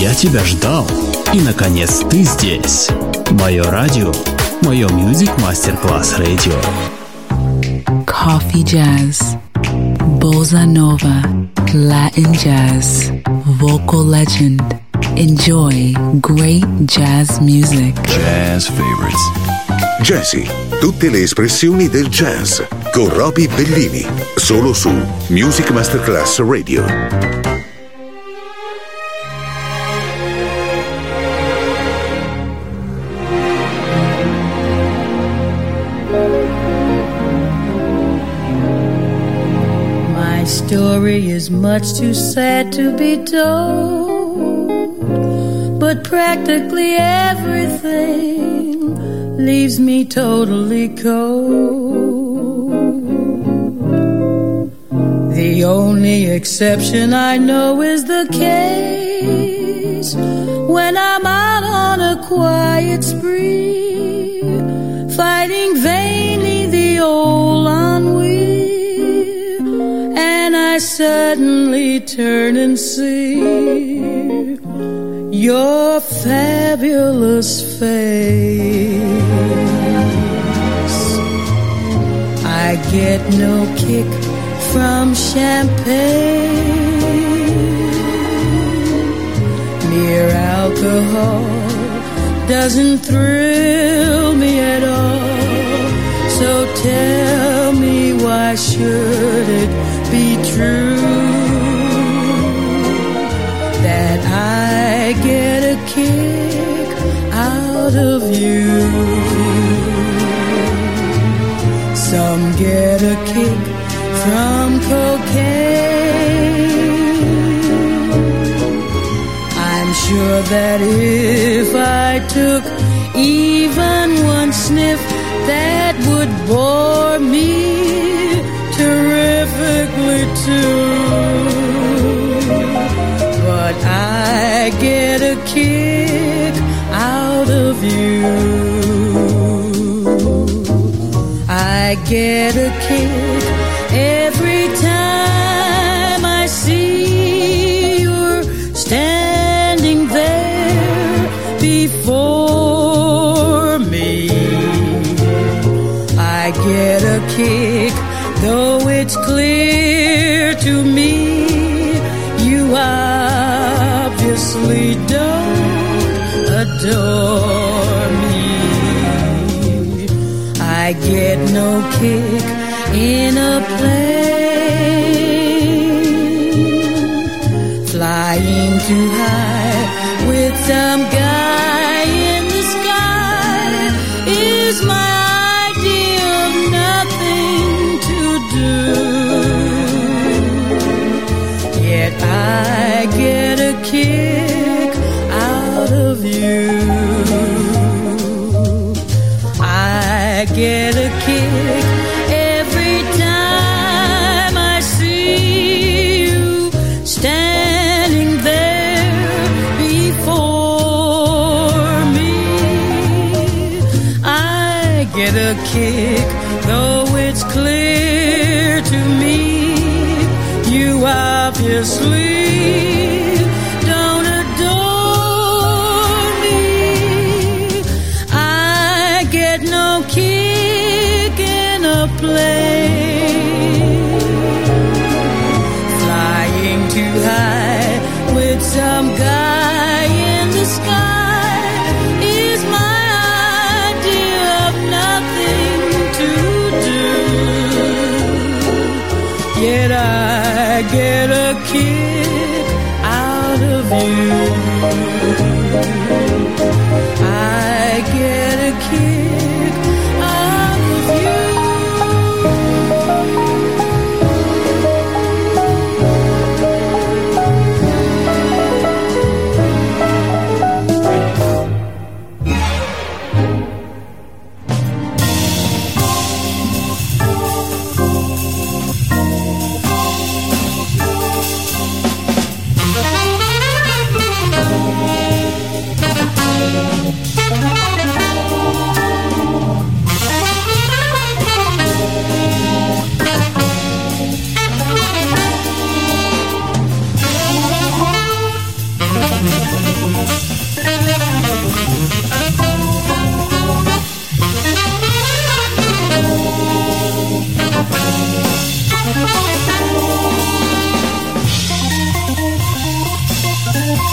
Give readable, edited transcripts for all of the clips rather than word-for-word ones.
Я тебя ждал, и наконец ты здесь. Мое радио, мое Music Masterclass Radio. Coffee jazz, bossa nova, Latin jazz, vocal legend. Enjoy great jazz music. Jazz favorites. Jazzy, tutte le espressioni del jazz con Roby Bellini, solo su Music Masterclass Radio. My story is much too sad to be told, but practically everything leaves me totally cold. The only exception I know is the case when I'm out on a quiet spree, fighting vainly the old ennui, and I suddenly turn and see your fabulous face. I get no kick from champagne. Mere alcohol doesn't thrill me at all. So tell me, why should it be true that I get a kick out of you? Some get a kick from cocaine. I'm sure that if I took even one sniff, that would bore me terrifically too. But I get a kick out of you. I get a kick every time I see you're standing there before me. I get a kick, though it's clear to me you obviously don't adore me. I get no kick in a plane, flying too high with some guy in the sky is my idea of nothing to do. Yet I get a kick out of you. I get a kick every time I see you standing there before me. I get a kick, though it's clear to me you obviously don't adore me. I get no kick in a plane, flying too high with some guy in the sky is my idea of nothing to do. Yet I get a kick out of you. I get a kick out of you.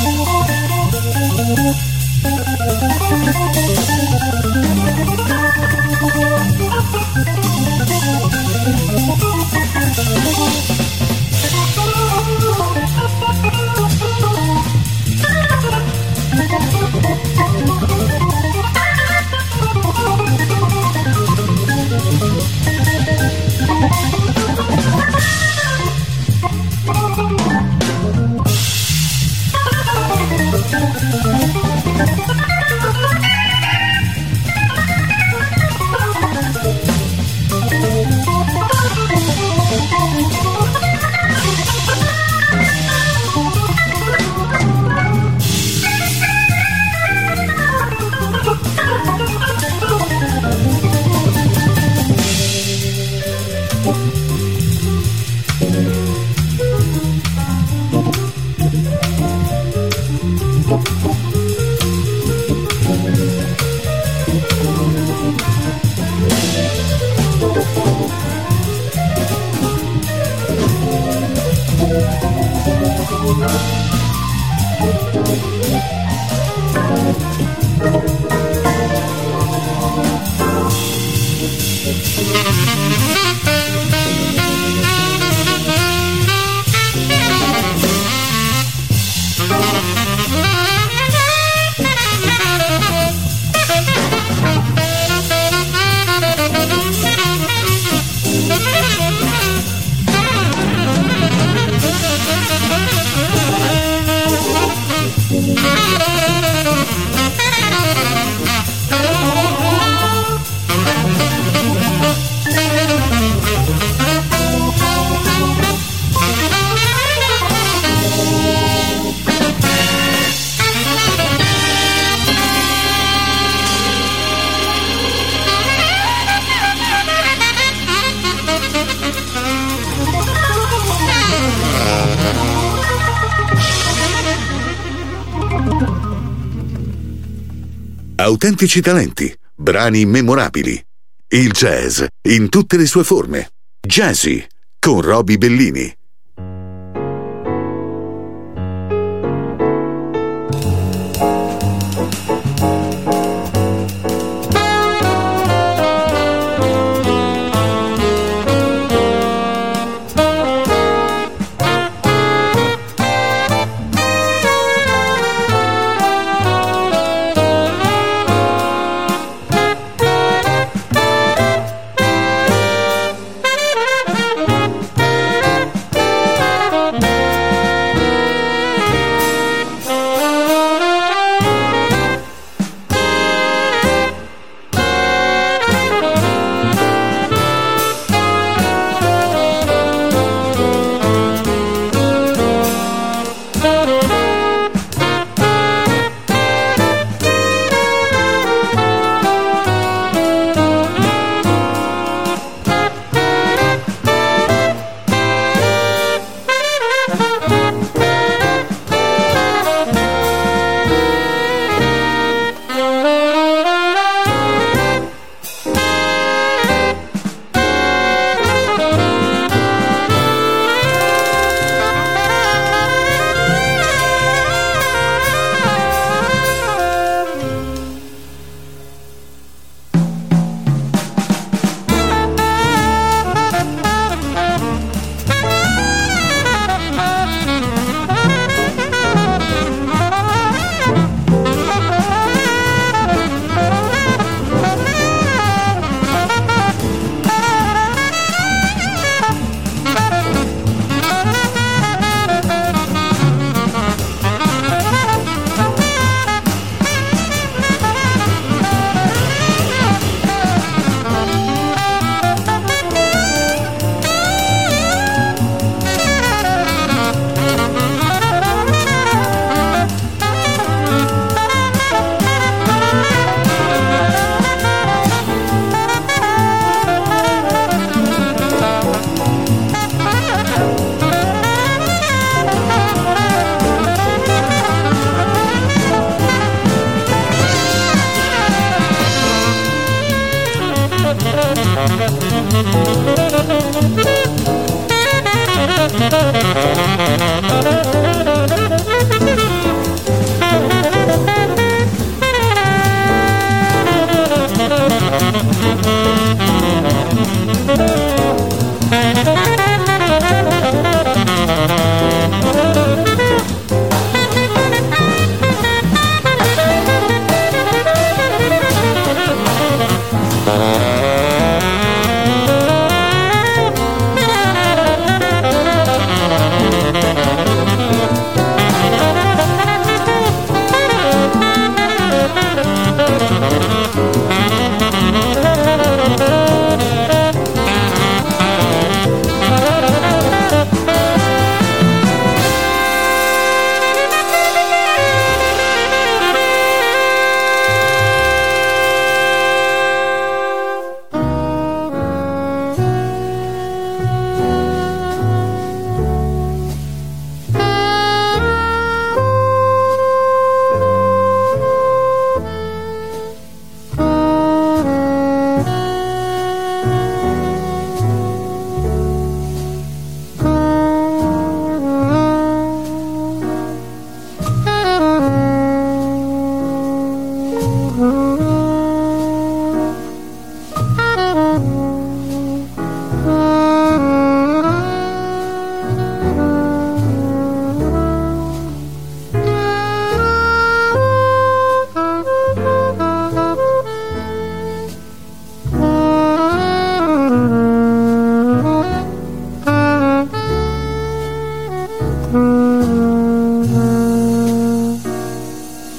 Autentici talenti, brani memorabili. Il jazz in tutte le sue forme. Jazzy con Roby Bellini.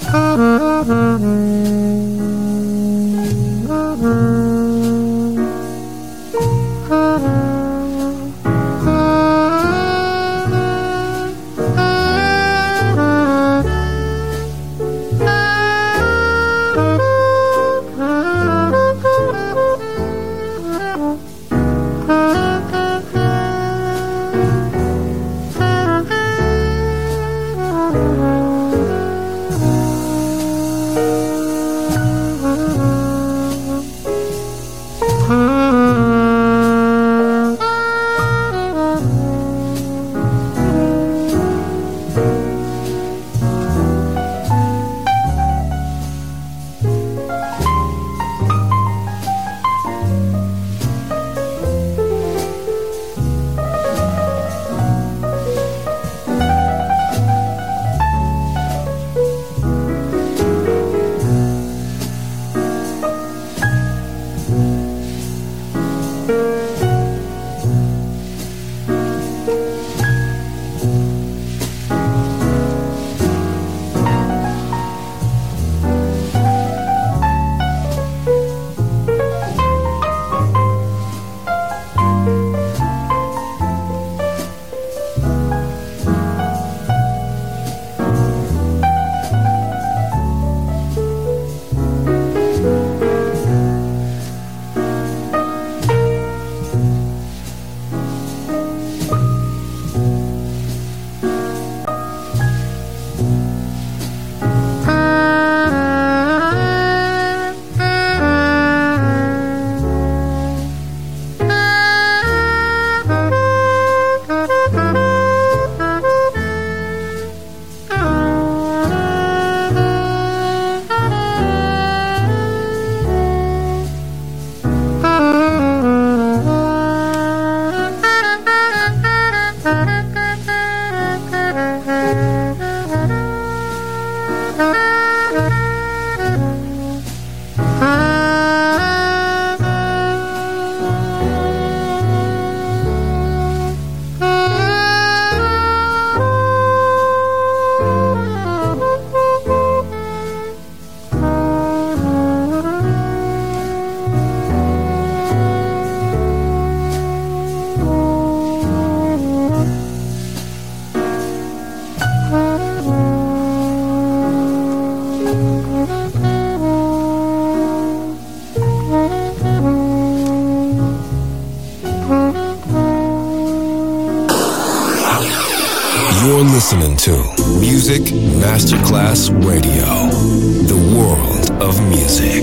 You're listening to Music Masterclass Radio, the world of music.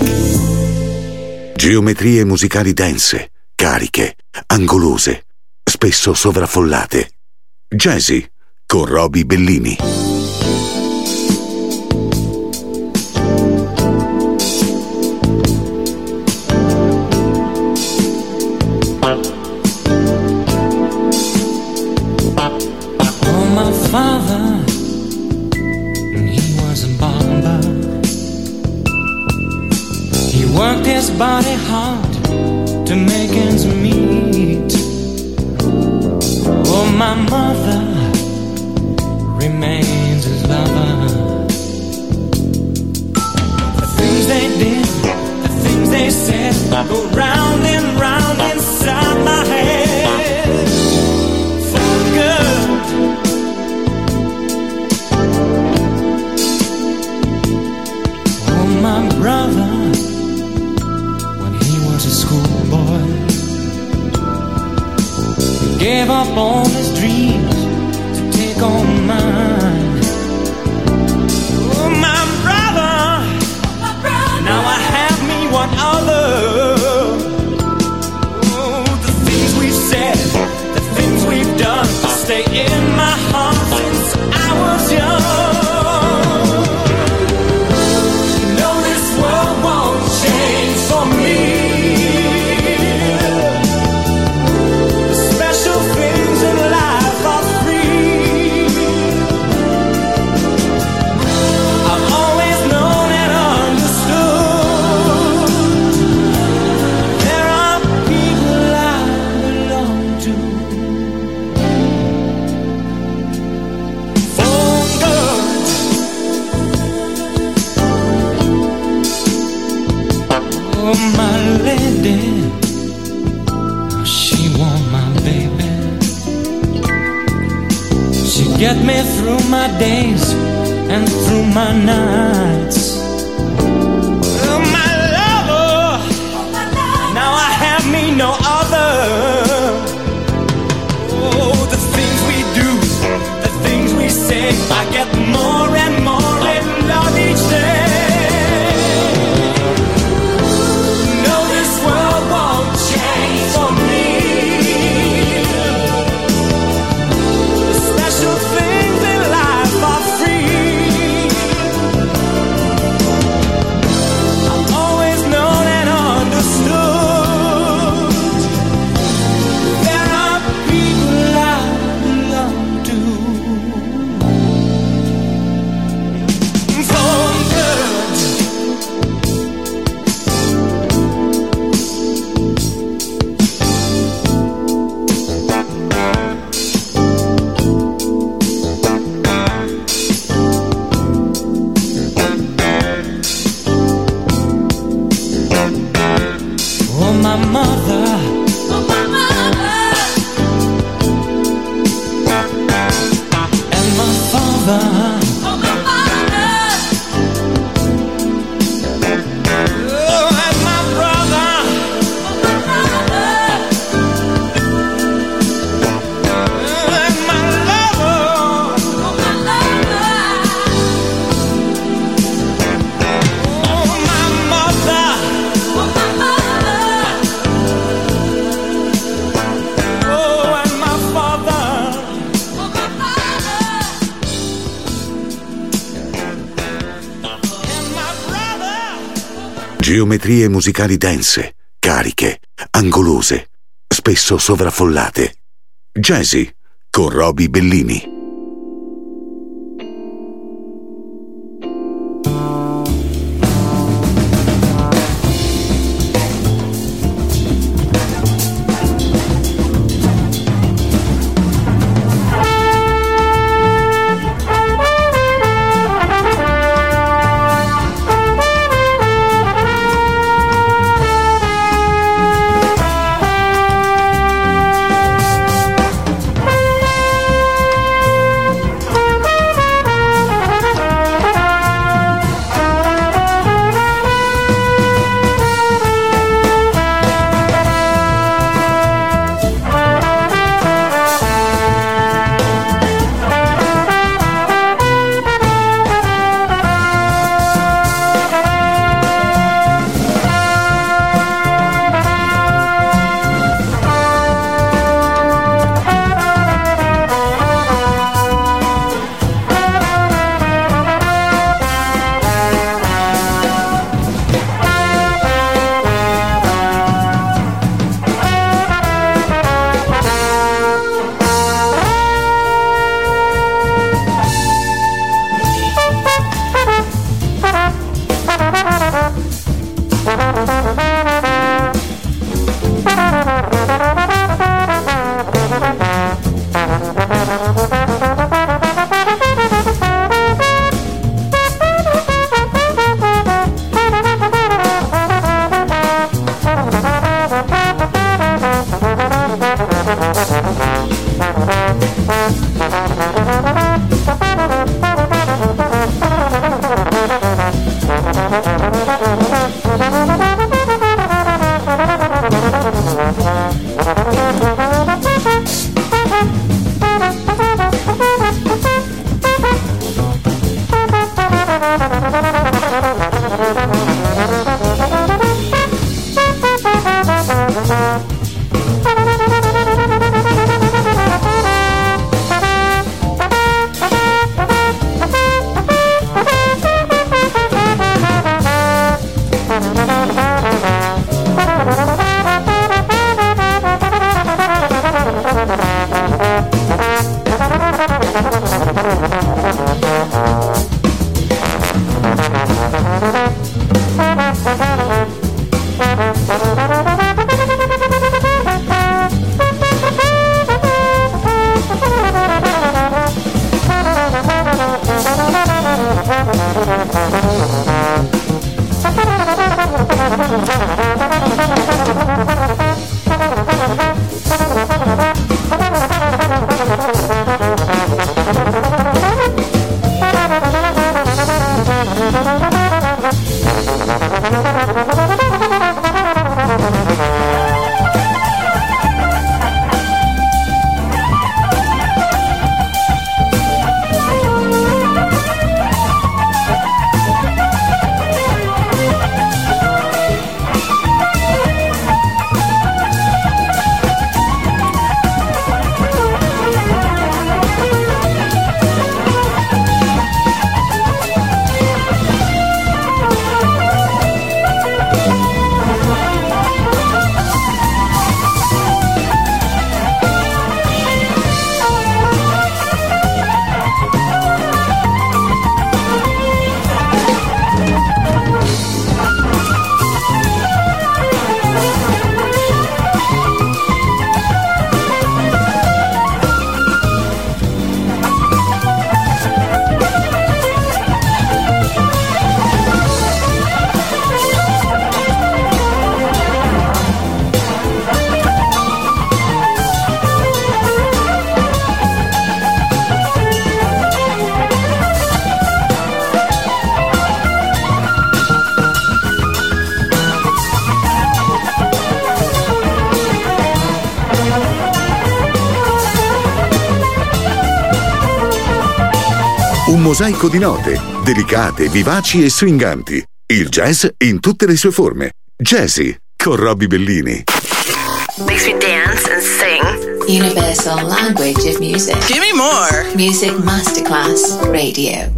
Geometrie musicali dense, cariche, angolose, spesso sovraffollate. Jazzy con Roby Bellini. Father, he was a barber. He worked his body hard to make ends meet. Oh, my mother remains his lover. The things they did, the things they said, go round and round inside my head. For good. My brother, when he was a schoolboy, he gave up all his dreams to take on mine. Oh, my brother, now I have me one other. Oh, the things we've said, the things we've done, stay in my heart since I was young. Special things in get me through my days and through my nights. Oh, my lover, now I have me no other. Oh, the things we do, the things we say, I get more and more in love each day. No, this world won't change for me. The special things in life are free. I've always known and understood there are people I belong to. For good. Oh, my mother. Oh, my mother. And my father. Oh, my father. Oh, and my brother. Oh, my brother. Oh, and my lover. Oh, my lover. Oh, my mother. Oh, my mother. Oh, and my father. Oh, my father. And my brother. Geometrie musicali dense, cariche, angolose, spesso sovraffollate. Jazzy con Roby Bellini. Un mosaico di note, delicate, vivaci e swinganti. Il jazz in tutte le sue forme. Jazzy, con Robbie Bellini. Makes me dance and sing. Universal language of music. Give me more. Music Masterclass Radio.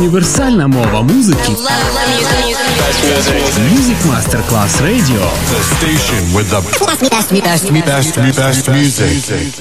Универсальна мова музики. Music Masterclass Radio. The station with the best music.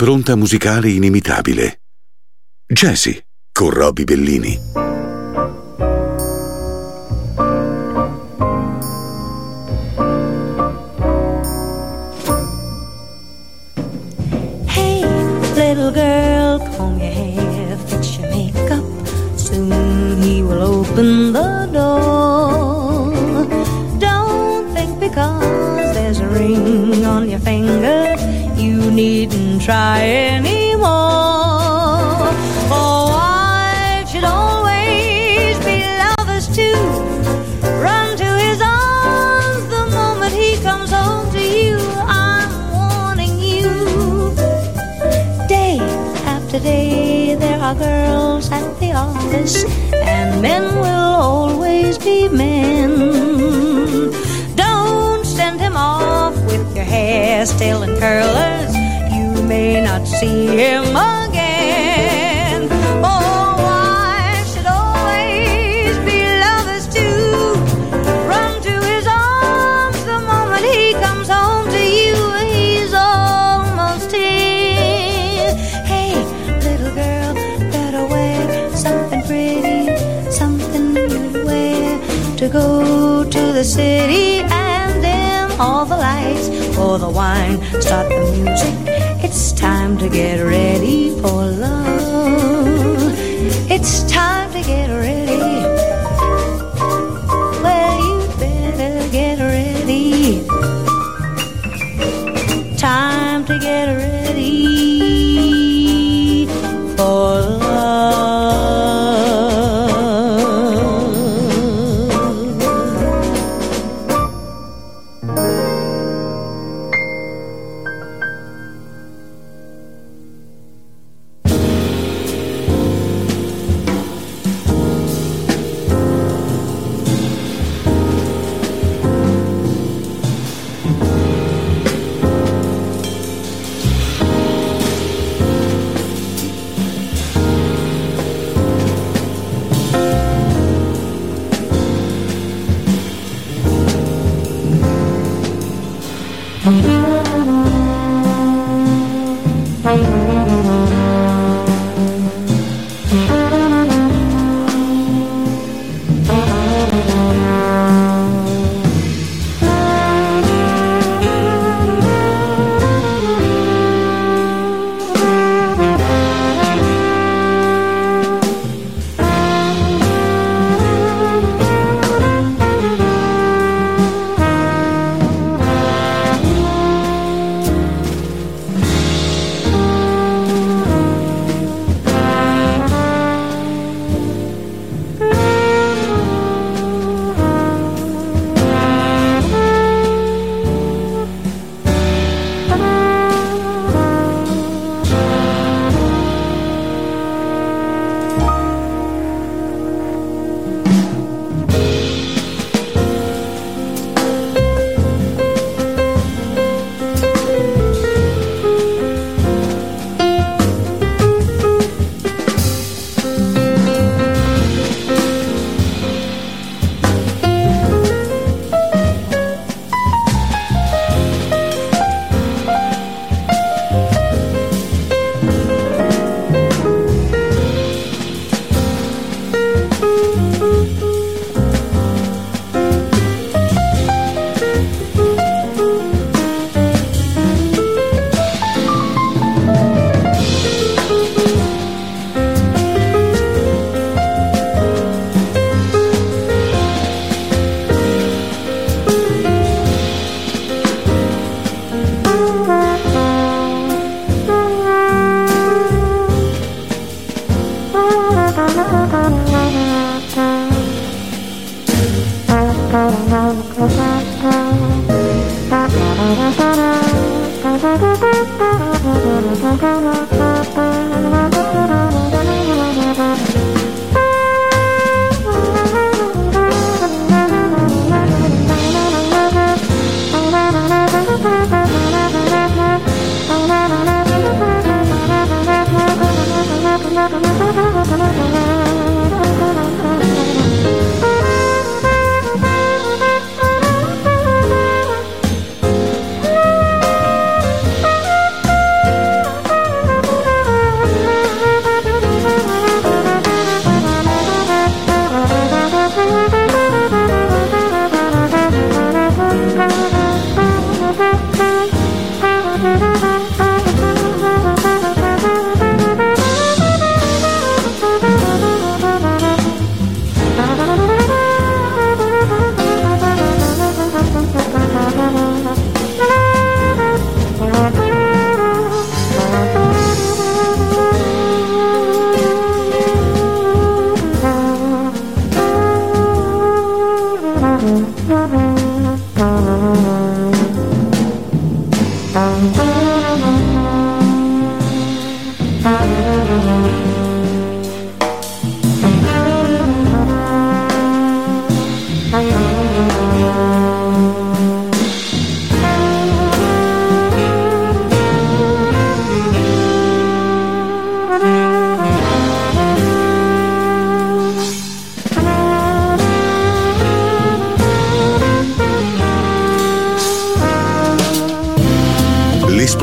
un'impronta musicale inimitabile. Jazzy con Robbie Bellini. Hey, little girl, comb your hair, fix your makeup. Soon he will open the door. Don't think because there's a ring on your finger you needn't try anymore. Oh, wives should always be lovers too. Run to his arms the moment he comes home to you. I'm warning you. Day after day there are girls at the office, and men will always be men. Don't send him off with your hair still in curlers. You may not see him again. Oh, wives should always be lovers too. Run to his arms the moment he comes home to you. He's almost here. Hey, little girl, better wear something pretty, something you wear to go to the city, and dim all the lights, pour the wine, start the music. It's time to get ready for love. It's time to get ready. Well, you better get ready. Time to get ready for love.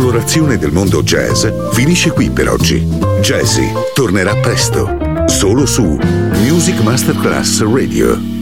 L'esplorazione del mondo jazz finisce qui per oggi. Jazzy tornerà presto, solo su Music Masterclass Radio.